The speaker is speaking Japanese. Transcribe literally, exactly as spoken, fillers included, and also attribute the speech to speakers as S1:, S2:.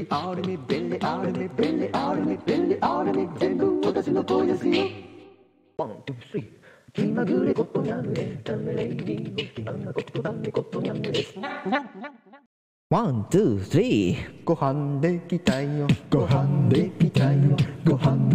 S1: アルミ便利アルミ便利アルミ便利アルミ全部私の声ですよ。ワン、ツー、スリー。気まぐれことにゃんエンタメレイディオ気まぐれことだめことにゃんです。
S2: ワン、ツー、スリー。
S1: ご飯できたよご飯できたよご飯